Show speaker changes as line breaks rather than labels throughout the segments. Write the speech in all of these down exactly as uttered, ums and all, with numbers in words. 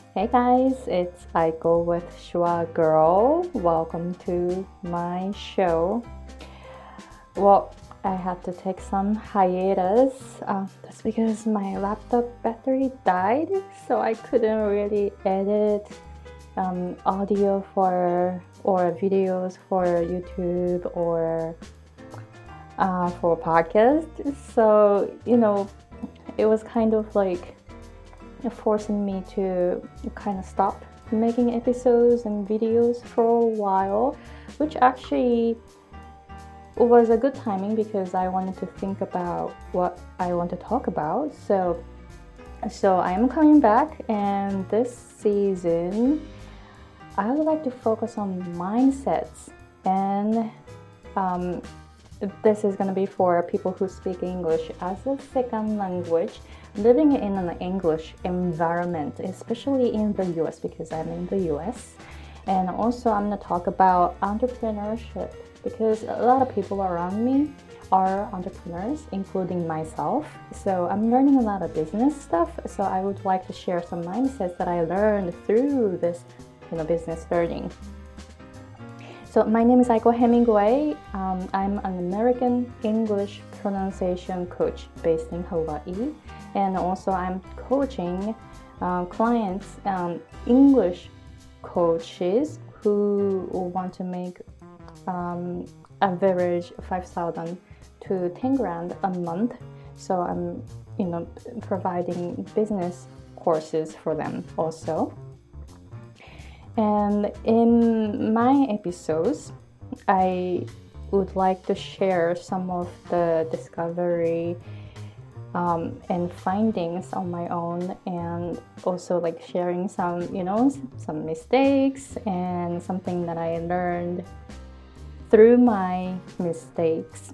Hey guys, it's Aiko with Shua Girl. Welcome to my show. Well, I had to take some hiatus. Uh, that's because my laptop battery died, so I couldn't really edit um, audio for or videos for YouTube or uh, for podcast. So you know, it was kind of like forcing me to kind of stop making episodes and videos for a while, which actually was a good timing because I wanted to think about what I want to talk about. So, so I am coming back, and this season I would like to focus on mindsets, and um, this is going to be for people who speak English as a second language, living in an English environment, especially in the U S because I'm in the U S. And also I'm going to talk about entrepreneurship because a lot of people around me are entrepreneurs, including myself. So I'm learning a lot of business stuff. So I would like to share some mindsets that I learned through this, you know, business learning. So my name is Aiko Hemingway. Um, I'm an American English pronunciation coach based in Hawaii. And also I'm coaching uh, clients, um, English coaches who want to make um, average five thousand to ten grand a month. So I'm, you know, providing business courses for them also. And in my episodes, I would like to share some of the discovery um, and findings on my own, and also like sharing some, you know, some mistakes and something that I learned through my mistakes.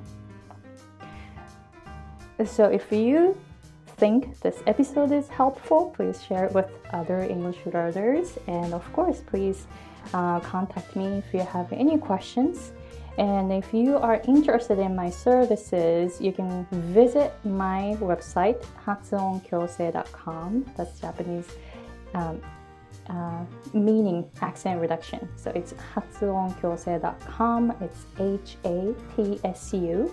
So if you think this episode is helpful, please share it with other English learners, and of course please uh, contact me if you have any questions. And if you are interested in my services, you can visit my website hatsuon kyosei dot com. That's Japanese um, uh, meaning accent reduction, so it's hatsuon kyosei dot com. It's H A T S U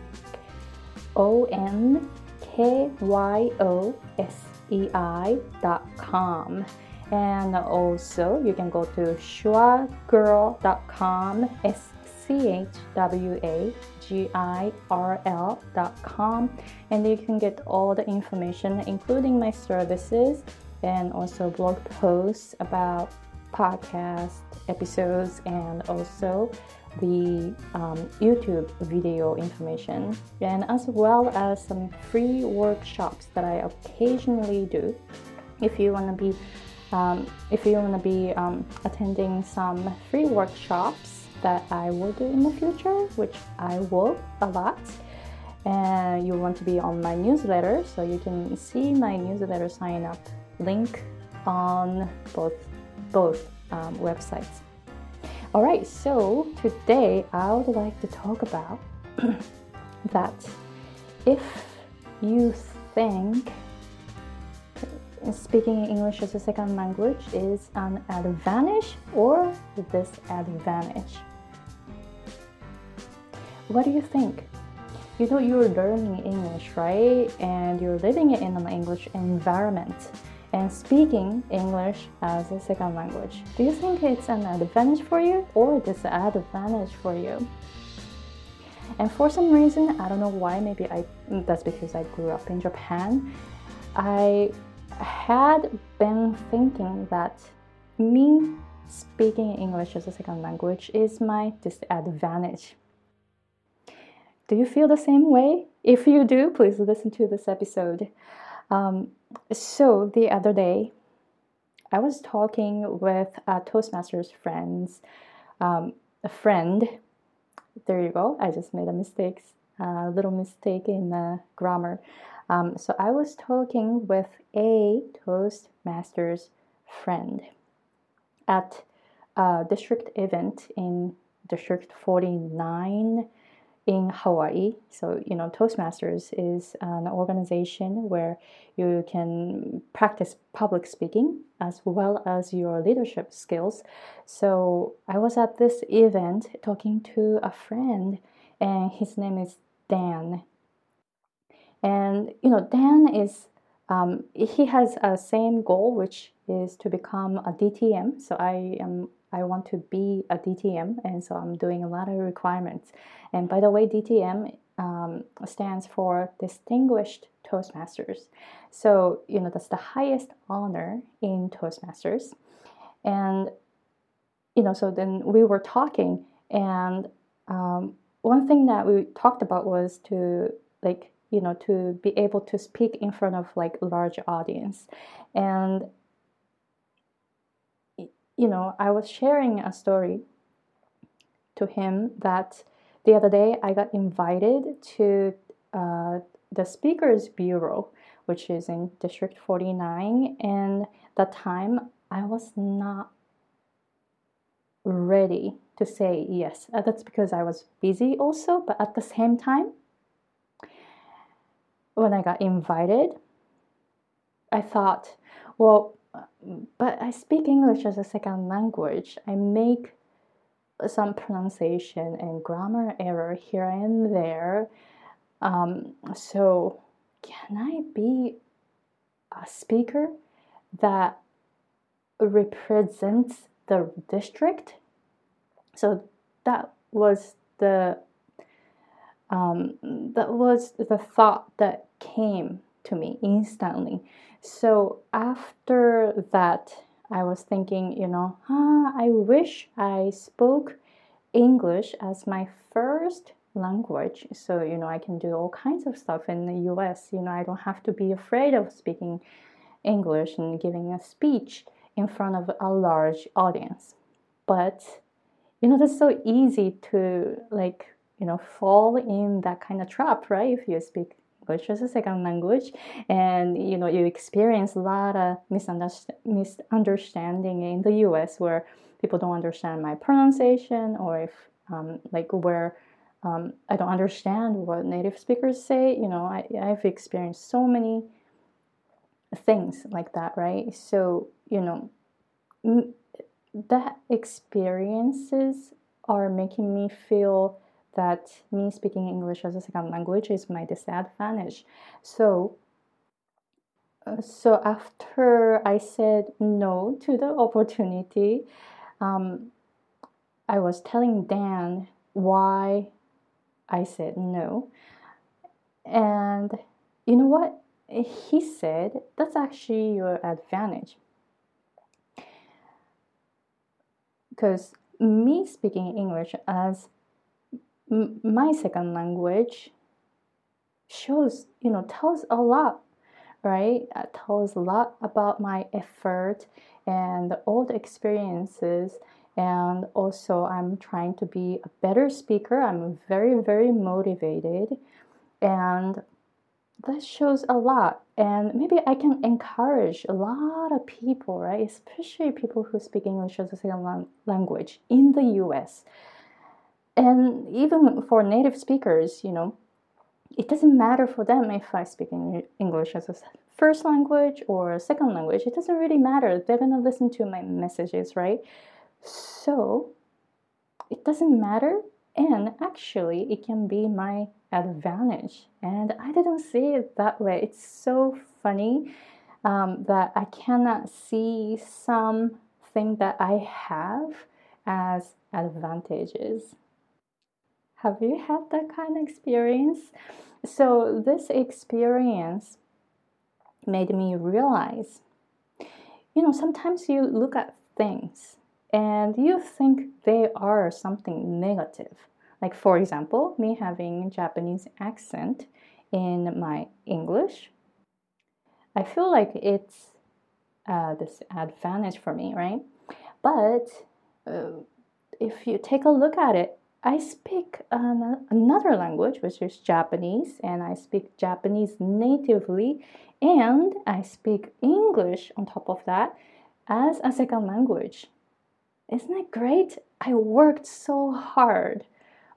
O N K Y O S E I dot com. And also you can go to shua girl dot com, S C H W A G I R L dot com, and you can get all the information, including my services and also blog posts about podcast episodes, and also the um, YouTube video information, and as well as some free workshops that I occasionally do. If you want to be, um, if you want to be um, attending some free workshops that I will do in the future, which I will a lot, and you want to be on my newsletter, so you can see my newsletter sign up link on both both um, websites. All right, so today I would like to talk about that if you think speaking English as a second language is an advantage or disadvantage. What do you think? You know, you're learning English, right? And you're living in an English environment and speaking English as a second language. Do you think it's an advantage for you or disadvantage for you? And for some reason, I don't know why, maybe I that's because I grew up in Japan, I had been thinking that me speaking English as a second language is my disadvantage. Do you feel the same way? If you do, please listen to this episode. Um, so the other day, I was talking with a Toastmasters friends, um, a friend. There you go. I just made a mistake, a little mistake in the grammar. Um, so I was talking with a Toastmasters friend at a district event in District forty-nine in Hawaii. So, you know, Toastmasters is an organization where you can practice public speaking as well as your leadership skills. So, I was at this event talking to a friend, and his name is Dan. And, you know, Dan is, um, he has a same goal, which is to become a D T M. So, I am I want to be a D T M, and so I'm doing a lot of requirements. And by the way, D T M um, stands for Distinguished Toastmasters. So, you know, that's the highest honor in Toastmasters. And, you know, so then we were talking, and um, one thing that we talked about was to, like, you know, to be able to speak in front of like large audience. And you know, I was sharing a story to him that the other day I got invited to uh, the Speakers Bureau, which is in District forty-nine, and that time I was not ready to say yes. Uh, That's because I was busy also, but at the same time, when I got invited, I thought, well, but I speak English as a second language. I make some pronunciation and grammar error here and there. Um, so, can I be a speaker that represents the district? So that was the um, that was the thought that came to me instantly. So after that, I was thinking, you know, ah, I wish I spoke English as my first language. So, you know, I can do all kinds of stuff in the U S. You know, I don't have to be afraid of speaking English and giving a speech in front of a large audience. But, you know, that's so easy to, like, you know, fall in that kind of trap, right? If you speak English as a second language, and you know, you experience a lot of misunderstanding in the U S where people don't understand my pronunciation, or if um, like where um, I don't understand what native speakers say. You know, I, I've experienced so many things like that, right? So, you know, that experiences are making me feel that me speaking English as a second language is my disadvantage. So, uh, so after I said no to the opportunity, um, I was telling Dan why I said no. And you know what? He said, that's actually your advantage. Because me speaking English as m- my second language shows, you know, tells a lot, right? It tells a lot about my effort and all the experiences. And also, I'm trying to be a better speaker. I'm very, very motivated. And that shows a lot. And maybe I can encourage a lot of people, right? Especially people who speak English as a second language in the U S. And even for native speakers, you know, it doesn't matter for them if I speak English as a first language or a second language. It doesn't really matter. They're going to listen to my messages, right? So it doesn't matter. And actually, it can be my advantage. And I didn't see it that way. It's so funny um, that I cannot see something that I have as advantages. Have you had that kind of experience? So, this experience made me realize, you know, sometimes you look at things and you think they are something negative. Like, for example, me having Japanese accent in my English, I feel like it's uh, this advantage for me, right? But uh, if you take a look at it, I speak an- another language, which is Japanese, and I speak Japanese natively, and I speak English on top of that as a second language. Isn't it great? I worked so hard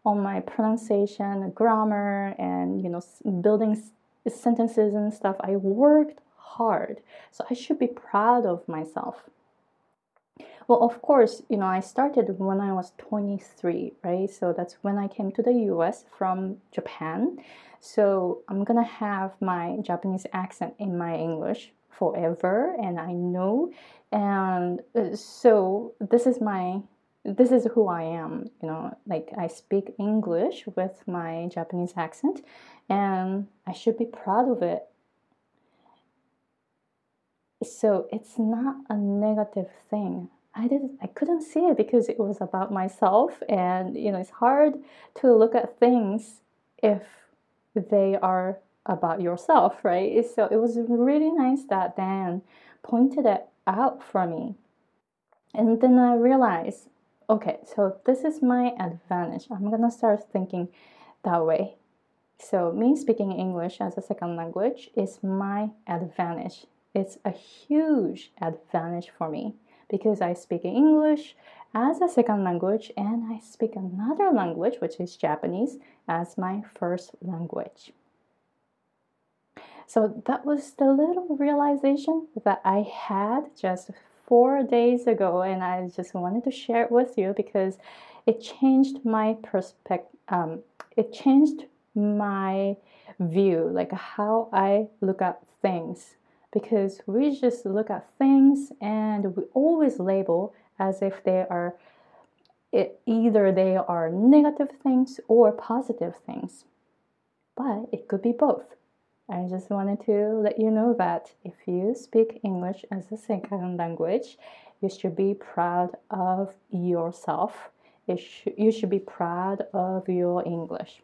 on my pronunciation, grammar, and you know, building sentences and stuff. I worked hard, so I should be proud of myself. Well, of course, you know, I started when I was twenty-three, right? So that's when I came to the U S from Japan. So I'm gonna have my Japanese accent in my English forever, and I know. And so this is my this is who I am, you know, like I speak English with my Japanese accent, and I should be proud of it. So it's not a negative thing. I didn't I couldn't see it because it was about myself, and you know, it's hard to look at things if they are about yourself, right? So it was really nice that Dan pointed it out for me. And then I realized, okay, so this is my advantage. I'm gonna start thinking that way. So me speaking English as a second language is my advantage. It's a huge advantage for me because I speak English as a second language and I speak another language, which is Japanese, as my first language. So that was the little realization that I had just four days ago, and I just wanted to share it with you because it changed my perspective. Um, it changed my view, like how I look at things. Because we just look at things and we always label as if they are it, either they are negative things or positive things. But it could be both. I just wanted to let you know that if you speak English as a second language, you should be proud of yourself. You should, you should be proud of your English.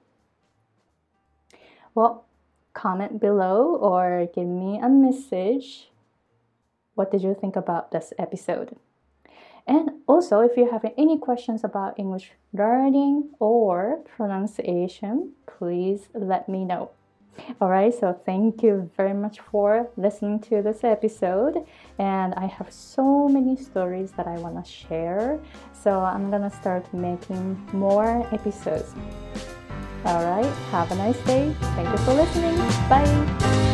Well, comment below or give me a message. What did you think about this episode? And also, if you have any questions about English learning or pronunciation, please let me know. All right, so thank you very much for listening to this episode. And I have so many stories that I want to share. So I'm going to start making more episodes. All right, have a nice day. Thank you for listening. Bye.